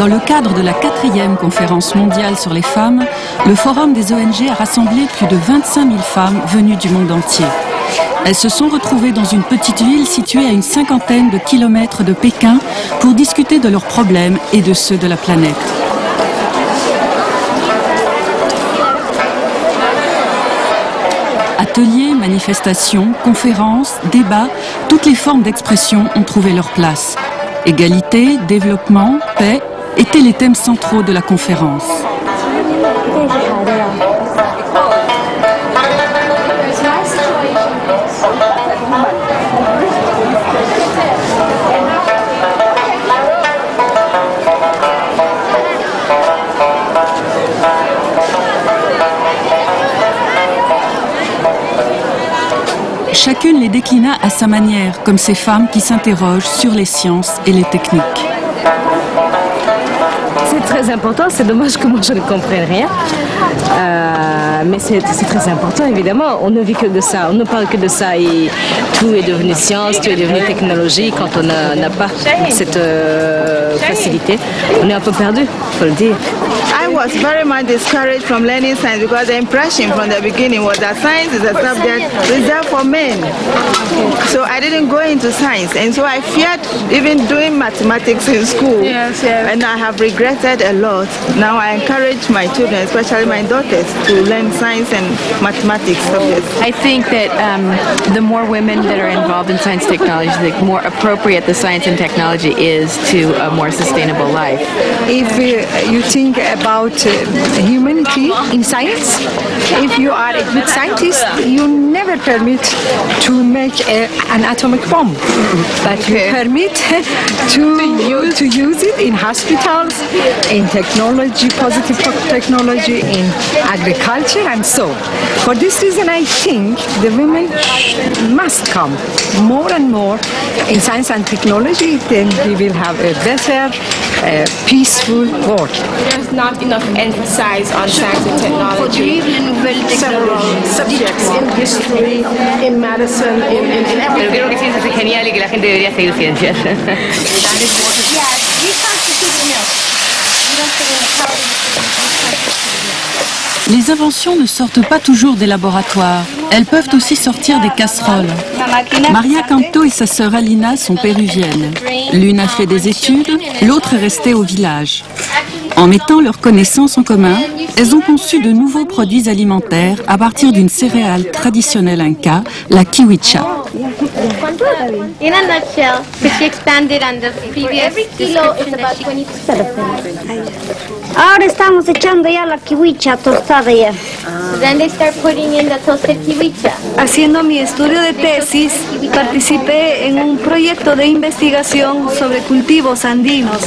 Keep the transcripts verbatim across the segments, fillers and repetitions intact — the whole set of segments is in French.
Dans le cadre de la quatrième conférence mondiale sur les femmes, le Forum des O N G a rassemblé plus de vingt-cinq mille femmes venues du monde entier. Elles se sont retrouvées dans une petite ville située à une cinquantaine de kilomètres de Pékin pour discuter de leurs problèmes et de ceux de la planète. Ateliers, manifestations, conférences, débats, toutes les formes d'expression ont trouvé leur place. Égalité, développement, paix étaient les thèmes centraux de la conférence. Chacune les déclina à sa manière, comme ces femmes qui s'interrogent sur les sciences et les techniques. C'est très important, c'est dommage que moi je ne comprenne rien. Euh, mais c'est très important évidemment, on ne vit que de ça, on ne parle que de ça et tout est devenu science, tout est devenu technologie. Quand on n'a pas cette euh, facilité, on est un peu perdu, il faut le dire. I was very much discouraged from learning science because the impression from the beginning was that science is a subject reserved for men. So I didn't go into science, and so I feared even doing mathematics in school. Yes, yes. And I have regretted a lot. Now I encourage my children, especially my daughters, to learn science and mathematics subjects. I think that um, the more women that are involved in science and technology, the more appropriate the science and technology is to a more sustainable life. If uh, you think about uh, humanity in science, if you are a good scientist, you never permit to make a, an atomic bomb, but you permit to, use, to use it in hospitals, in technology, positive technology, in agriculture, and so. For this reason, I think the women must come more and more in science and technology, then we will have a better, uh, peaceful world. There's not enough emphasis on science and technology. Several subjects in history, in medicine, in, in, in everything. Pero creo que ciencias es genial y que la gente debería seguir ciencias. Les inventions ne sortent pas toujours des laboratoires. Elles peuvent aussi sortir des casseroles. Maria Canto et sa sœur Alina sont péruviennes. L'une a fait des études, l'autre est restée au village. En mettant leurs connaissances en commun, elles ont conçu de nouveaux produits alimentaires à partir d'une céréale traditionnelle inca, la kiwicha. In a nutshell, she expanded on the previous every kilo is about twenty percent. Ahora estamos echando ya la kiwicha tostada ya. Then they start putting in the toasted kiwicha. Haciendo mi estudio de tesis, participé en un proyecto de investigación sobre cultivos andinos.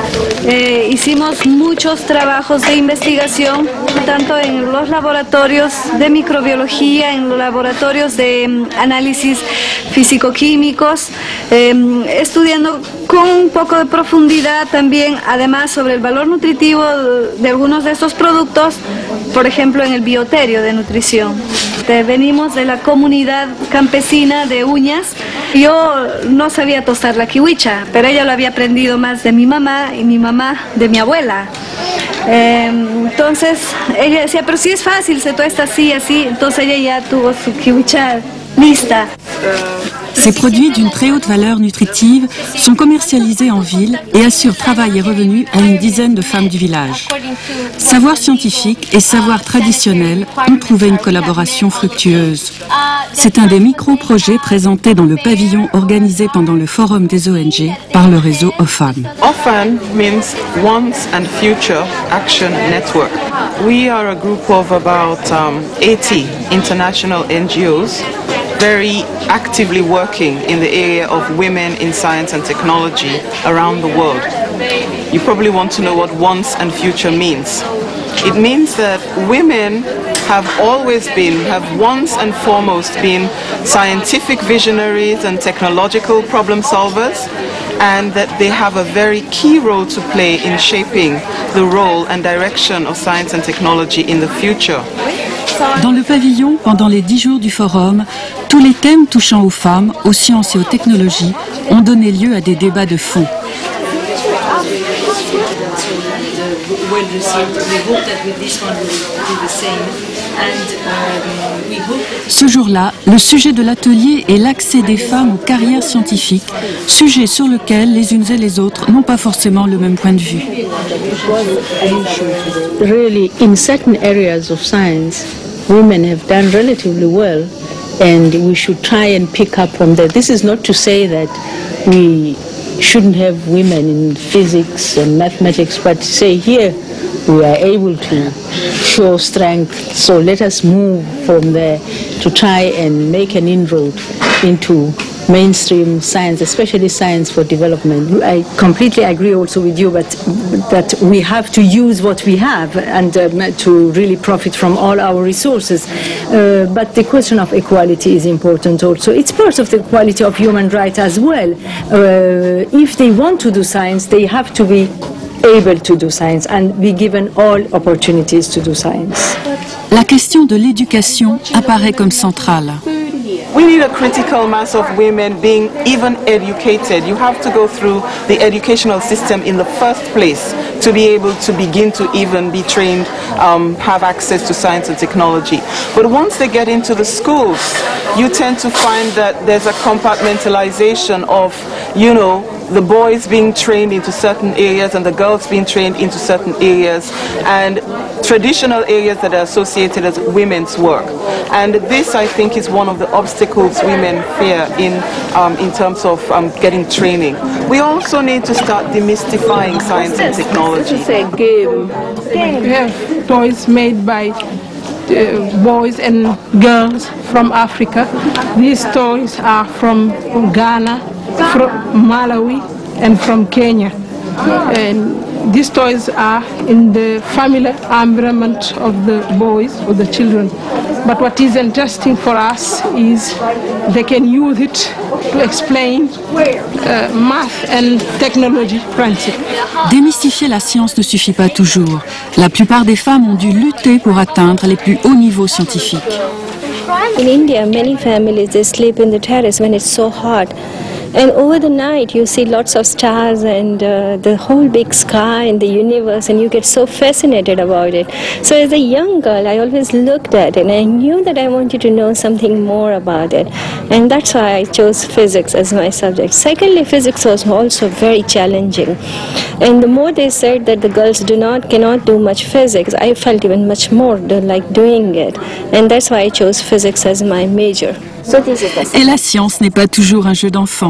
Eh, hicimos muchos trabajos de investigación, tanto en los laboratorios de microbiología, en los laboratorios de um, análisis físico-químicos, eh, estudiando con un poco de profundidad también, además, sobre el valor nutritivo de algunos de estos productos, por ejemplo, en el bioterio de nutrición. Venimos de la comunidad campesina de Uñas. Yo no sabía tostar la kiwicha, pero ella lo había aprendido más de mi mamá y mi mamá de mi abuela. Eh, entonces ella decía, pero sí es fácil, se tuesta así, así. Entonces ella ya tuvo su kiwicha lista. Ces produits d'une très haute valeur nutritive sont commercialisés en ville et assurent travail et revenus à une dizaine de femmes du village. Savoir scientifique et savoir traditionnel ont trouvé une collaboration fructueuse. C'est un des micro-projets présentés dans le pavillon organisé pendant le Forum des O N G par le réseau O F A M. O F A M means Once and Future Action Network. We are a group of about um, eighty international N G Os very actively working in the area of women in science and technology around the world. You probably want to know what once and future means. It means that women have always been, have once and foremost been scientific visionaries and technological problem solvers, and that they have a very key role to play in shaping the role and direction of science and technology in the future. Dans le pavillon, pendant les dix jours du forum, tous les thèmes touchant aux femmes, aux sciences et aux technologies ont donné lieu à des débats de fond. well received. We hope that with this one we will do the same. And um, we hope that... Ce jour-là, le sujet de l'atelier est l'accès des femmes aux carrières scientifiques, sujet sur lequel les unes et les autres n'ont pas forcément le même point de vue. Really, in certain areas of science, women have done relatively well, and we should try and pick up from that. This is not to say that we shouldn't have women in physics and mathematics, but say here we are able to show strength, so let us move from there to try and make an inroad into mainstream science, especially science for development. I completely agree also with you, but that we have to use what we have and um, to really profit from all our resources. Uh, but the question of equality is important also. It's part of the quality of human rights as well. Uh, if they want to do science, they have to be able to do science and be given all opportunities to do science. La question de l'éducation apparaît comme centrale. We need a critical mass of women being even educated. You have to go through the educational system in the first place to be able to begin to even be trained, um, have access to science and technology. But once they get into the schools, you tend to find that there's a compartmentalization of, you know, the boys being trained into certain areas and the girls being trained into certain areas, and traditional areas that are associated as women's work. And this, I think, is one of the obstacles women fear in, um, in terms of um, getting training. We also need to start demystifying science and technology. It's a game. We have toys made by uh, boys and girls from Africa. These toys are from Ghana, from Malawi, and from Kenya. And these toys are in the family environment of the boys or the children. But what is interesting for us is they can use it to explain uh, math and technology principles. Démystifier la science ne suffit pas toujours. La plupart des femmes ont dû lutter pour atteindre les plus hauts niveaux scientifiques. In India, many families they sleep in the terrace when it's so hot. And over the night you see lots of stars and uh, the whole big sky and the universe, and you get so fascinated about it. So as a young girl I always looked at it and I knew that I wanted to know something more about it, and that's why I chose physics as my subject. Secondly, physics was also very challenging, and the more they said that the girls do not cannot do much physics, I felt even much more like doing it, and that's why I chose physics as my major. Et la science n'est pas toujours un jeu d'enfant.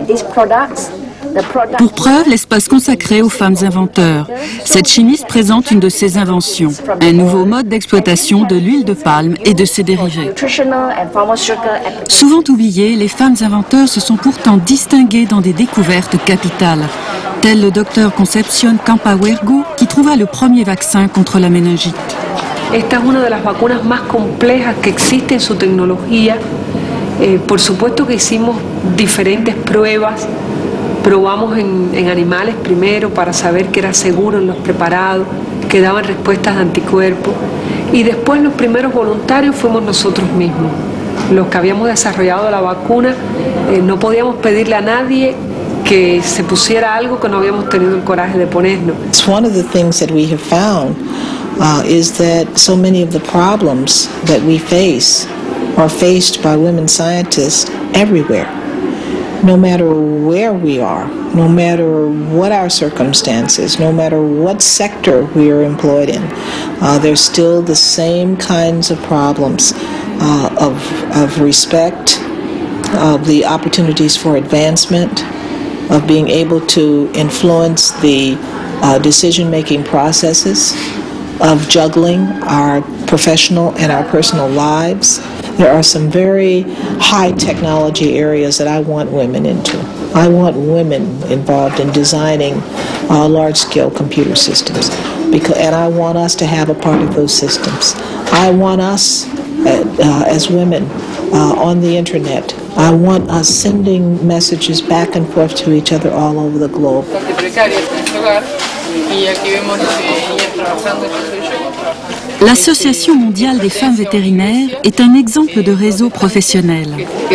Pour preuve, l'espace consacré aux femmes inventeurs. Cette chimiste présente une de ses inventions, un nouveau mode d'exploitation de l'huile de palme et de ses dérivés. Souvent oubliées, les femmes inventeurs se sont pourtant distinguées dans des découvertes capitales, tel le docteur Concepción Campahuergo qui trouva le premier vaccin contre la méningite. Esta es una de las vacunas más complejas que existe en su tecnología. Eh, por supuesto que hicimos diferentes pruebas, probamos en, en animales primero para saber que era seguro en los preparados, que daban respuestas de anticuerpos, y después los primeros voluntarios fuimos nosotros mismos. Los que habíamos desarrollado la vacuna, eh, no podíamos pedirle a nadie que se pusiera algo que no habíamos tenido el coraje de ponernos. It's one of the things that we have found uh, is that so many of the problems that we face are faced by women scientists everywhere. No matter where we are, no matter what our circumstances, no matter what sector we are employed in, uh, there's still the same kinds of problems uh, of, of respect, of the opportunities for advancement, of being able to influence the uh, decision-making processes, of juggling our professional and our personal lives. There are some very high technology areas that I want women into. I want women involved in designing uh, large-scale computer systems, because, and I want us to have a part of those systems. I want us uh, uh, as women uh, on the internet. I want us sending messages back and forth to each other all over the globe. L'Association mondiale des femmes vétérinaires est un exemple de réseau professionnel.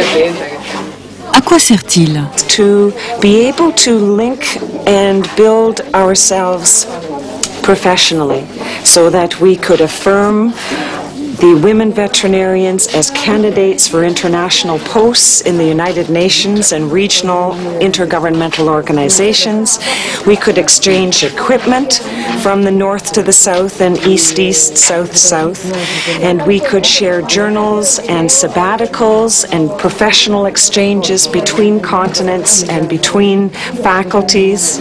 À quoi sert-il? To be able to link and build ourselves professionally so that we could affirm the women veterinarians as candidates for international posts in the United Nations and regional intergovernmental organizations. We could exchange equipment from the north to the south and east-east, south-south, and we could share journals and sabbaticals and professional exchanges between continents and between faculties.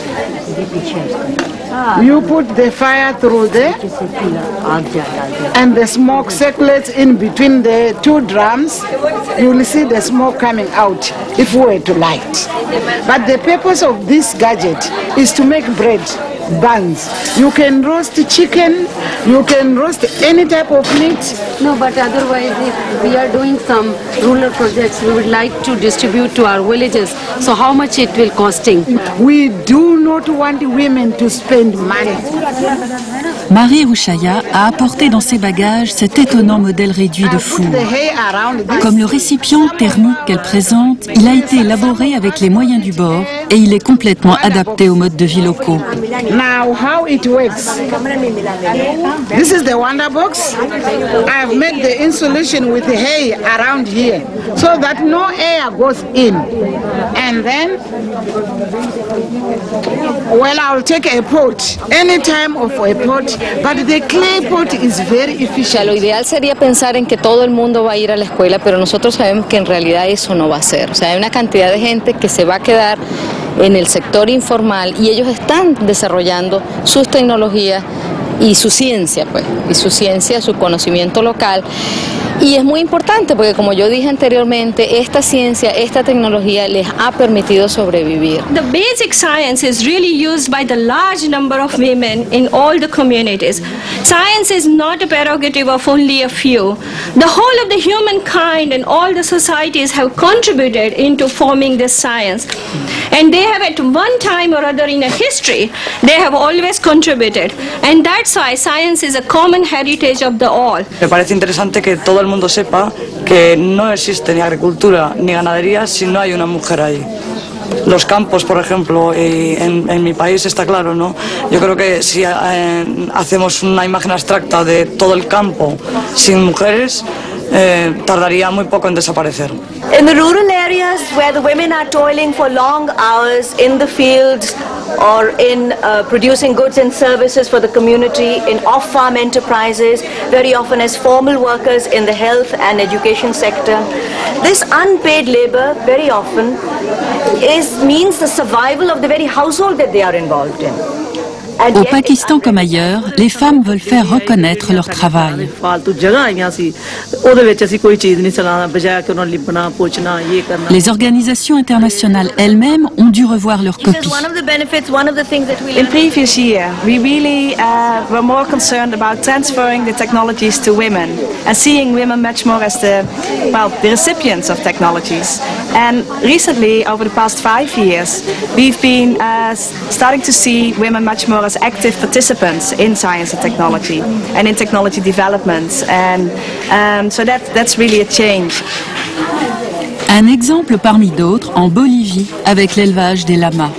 You put the fire through there, and the smoke circulates in between the two drums. You will see the smoke coming out if we were to light. But the purpose of this gadget is to make bread, buns. You can roast chicken, you can roast any type of meat. No, but otherwise, if we are doing some rural projects, we would like to distribute to our villages. So how much it will costing? We do not want women to spend money. Marie Rouchaya a apporté dans ses bagages cet étonnant modèle réduit de four. Comme le récipient thermique qu'elle présente, il a été élaboré avec les moyens du bord et il est complètement adapté aux modes de vie locaux. Now, how it works? This is the Wonder Box. I've made the insulation with hay around here so that no air goes in. And then, well, I'll take a pot, any time of a pot, but the clay pot is very efficient. Lo ideal sería pensar en que todo el mundo va a ir a la escuela, pero nosotros sabemos que en realidad eso no va a ser. O sea, hay una cantidad de gente que se va a quedar en el sector informal y ellos están desarrollando sus tecnologías y su ciencia, pues, y su ciencia, su conocimiento local. Y es muy importante porque, como yo dije anteriormente, esta ciencia, esta tecnología les ha permitido sobrevivir. The basic science is really used by the large number of women in all the communities. Science is not a prerogative of only a few. The whole of the humankind and all the societies have contributed into forming this science. And they have at one time or other in a history, they have always contributed. And that's why science is a common heritage of the all. Me parece interesante que todo el mundo sepa que no existe ni agricultura ni ganadería si no hay una mujer ahí. Los campos, por ejemplo, y en, en mi país está claro, ¿no? Yo creo que si eh, hacemos una imagen abstracta de todo el campo sin mujeres, eh, tardaría muy poco en desaparecer. In the rural areas where the women are toiling for long hours in the fields or in uh, producing goods and services for the community, in off-farm enterprises, very often as formal workers in the health and education sector, this unpaid labor very often is, means the survival of the very household that they are involved in. Au Pakistan comme ailleurs, les femmes veulent faire reconnaître leur travail. Les organisations internationales elles-mêmes ont dû revoir leurs copies. In previous year, we really uh, were more concerned about transferring the technologies to women and seeing women much more as the, well, the recipients of technologies. And recently, over the past five years, we've been uh, starting to see women much more as active participants in science and technology and in technology development, and um, so that, that's really a change. Un exemple parmi d'autres en Bolivie avec l'élevage des lamas.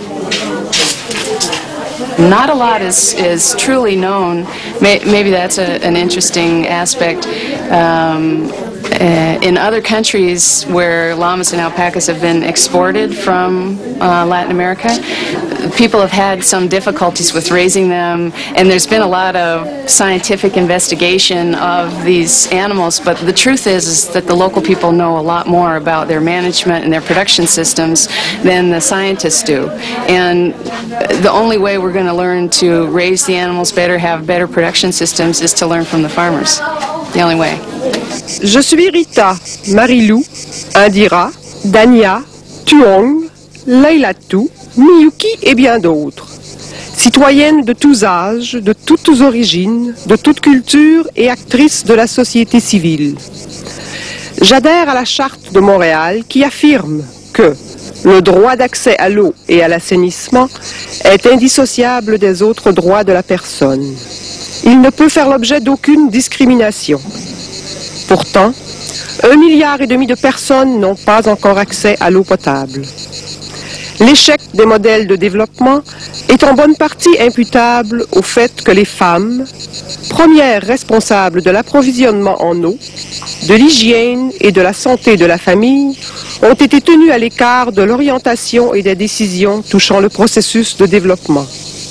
Not a lot is, is truly known. Maybe that's a, an interesting aspect. Um, Uh, in other countries where llamas and alpacas have been exported from uh, Latin America, people have had some difficulties with raising them, and there's been a lot of scientific investigation of these animals, but the truth is, is that the local people know a lot more about their management and their production systems than the scientists do. And the only way we're going to learn to raise the animals better, have better production systems, is to learn from the farmers. The only way. Je suis Rita, Marilou, Indira, Dania, Tuong, Leilatou, Miyuki et bien d'autres. Citoyennes de tous âges, de toutes origines, de toutes cultures et actrices de la société civile. J'adhère à la Charte de Montréal qui affirme que le droit d'accès à l'eau et à l'assainissement est indissociable des autres droits de la personne. Il ne peut faire l'objet d'aucune discrimination. Pourtant, un milliard et demi de personnes n'ont pas encore accès à l'eau potable. L'échec des modèles de développement est en bonne partie imputable au fait que les femmes, premières responsables de l'approvisionnement en eau, de l'hygiène et de la santé de la famille, ont été tenues à l'écart de l'orientation et des décisions touchant le processus de développement.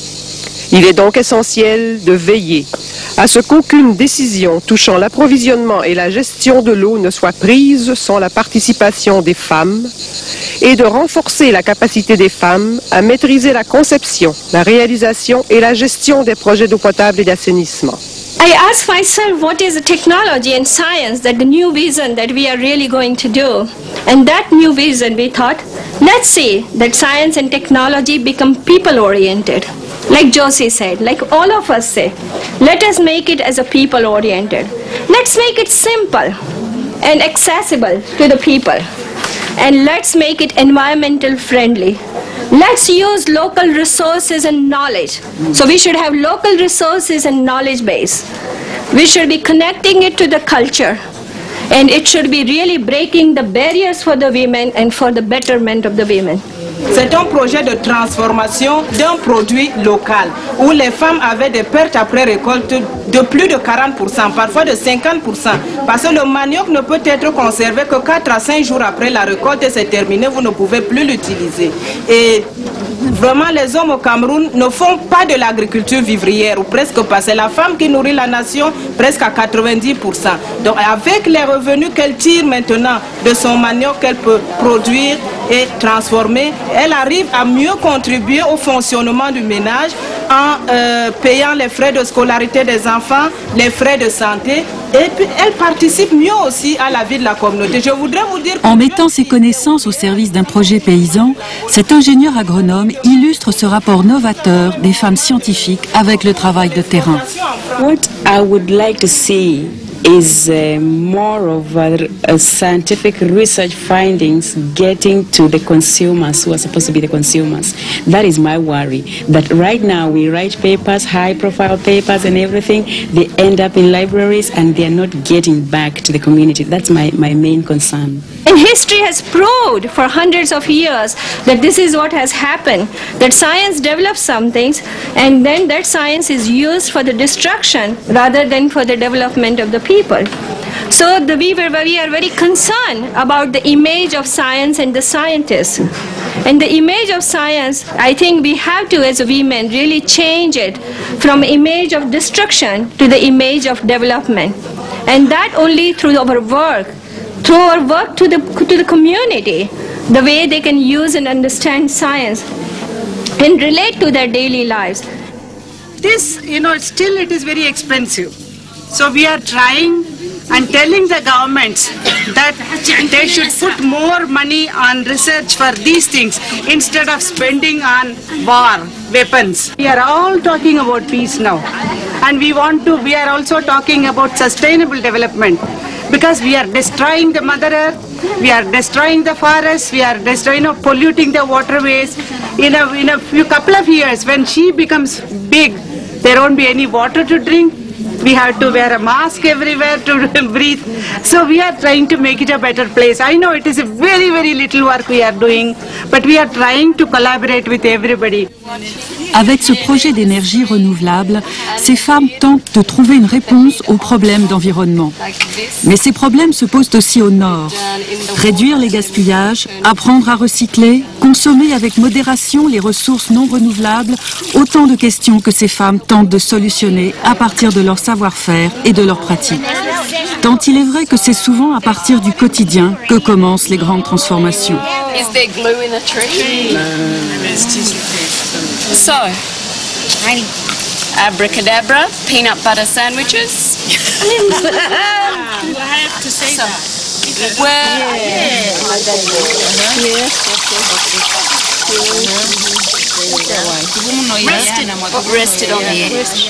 Il est donc essentiel de veiller à ce qu'aucune décision touchant l'approvisionnement et la gestion de l'eau ne soit prise sans la participation des femmes et de renforcer la capacité des femmes à maîtriser la conception, la réalisation et la gestion des projets d'eau potable et d'assainissement. I asked myself what is the technology and science that the new vision that we are really going to do. And that new vision we thought, let's see that science and technology become people oriented. Like Josie said, like all of us say, let us make it as a people oriented. Let's make it simple and accessible to the people. And let's make it environmental friendly. Let's use local resources and knowledge. So we should have local resources and knowledge base. We should be connecting it to the culture. And it should be really breaking the barriers for the women and for the betterment of the women. C'est un projet de transformation d'un produit local où les femmes avaient des pertes après récolte de plus de quarante pour cent, parfois de cinquante pour cent. Parce que le manioc ne peut être conservé que quatre à cinq jours après la récolte et c'est terminé, vous ne pouvez plus l'utiliser. Et vraiment, les hommes au Cameroun ne font pas de l'agriculture vivrière, ou presque pas. C'est la femme qui nourrit la nation presque à quatre-vingt-dix pour cent. Donc avec les revenus qu'elle tire maintenant de son manioc qu'elle peut produire et transformer, elle arrive à mieux contribuer au fonctionnement du ménage en euh, payant les frais de scolarité des enfants, les frais de santé, et puis elle participe mieux aussi à la vie de la communauté. Je voudrais vous dire... En mettant ses connaissances au service d'un projet paysan, cet ingénieur agronome illustre ce rapport novateur des femmes scientifiques avec le travail de terrain. What I would like to see is uh, more of a, a scientific research findings getting to the consumers who are supposed to be the consumers. That is my worry, that right now we write papers, high profile papers and everything, they end up in libraries and they are not getting back to the community. That's my, my main concern. And history has proved for hundreds of years that this is what has happened, that science develops some things and then that science is used for the destruction rather than for the development of the people. So the, we, were, we are very concerned about the image of science and the scientists. And the image of science, I think we have to as women really change it from image of destruction to the image of development. And that only through our work, through our work to the, to the community, the way they can use and understand science and relate to their daily lives. This, you know, still it is very expensive. So we are trying and telling the governments that they should put more money on research for these things instead of spending on war, weapons. We are all talking about peace now. And we want to, we are also talking about sustainable development because we are destroying the Mother Earth, we are destroying the forests, we are destroying, you know, polluting the waterways. In a, in a few couple of years, when she becomes big, there won't be any water to drink. We have to wear a mask everywhere to breathe. So we are trying to make it a better place. I know it is a very, very little work we are doing, but we are trying to collaborate with everybody. Avec ce projet d'énergie renouvelable, ces femmes tentent de trouver une réponse aux problèmes d'environnement. Mais ces problèmes se posent aussi au nord. Réduire les gaspillages, apprendre à recycler, consommer avec modération les ressources non renouvelables, autant de questions que ces femmes tentent de solutionner à partir de leur savoir-faire et de leurs pratiques. Tant il est vrai que c'est souvent à partir du quotidien que commencent les grandes transformations. Is there glue in a tree? No, there's tissue paper. So, abracadabra, peanut butter sandwiches. You have to say so, that. Well, yeah. Rested, rested on the edge.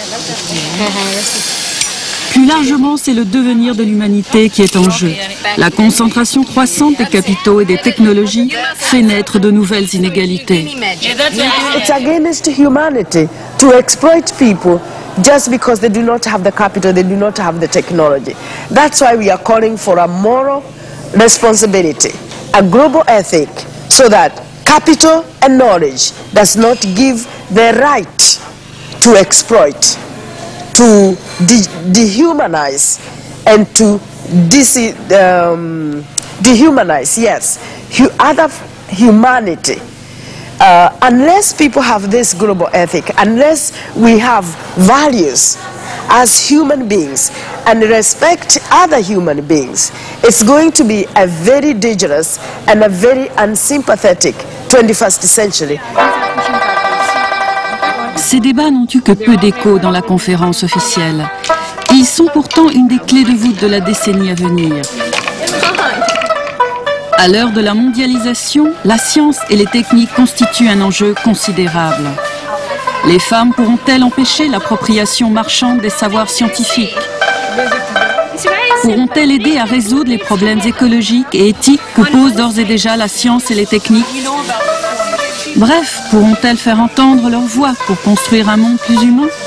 Plus largement, c'est le devenir de l'humanité qui est en jeu. La concentration croissante des capitaux et des technologies fait naître de nouvelles inégalités. It's against humanity to exploit people just because they do not have the capital, they do not have the technology. That's why we are calling for a moral responsibility, a global ethic, so that capital and knowledge does not give the right to exploit, to de dehumanize, and to dis um, dehumanize, yes, hu other humanity. Uh, unless people have this global ethic, unless we have values as human beings and respect other human beings, it's going to be a very dangerous and a very unsympathetic twenty-first century. Ces débats n'ont eu que peu d'écho dans la conférence officielle. Ils sont pourtant une des clés de voûte de la décennie à venir. À l'heure de la mondialisation, la science et les techniques constituent un enjeu considérable. Les femmes pourront-elles empêcher l'appropriation marchande des savoirs scientifiques? Pourront-elles aider à résoudre les problèmes écologiques et éthiques que posent d'ores et déjà la science et les techniques? Bref, pourront-elles faire entendre leur voix pour construire un monde plus humain?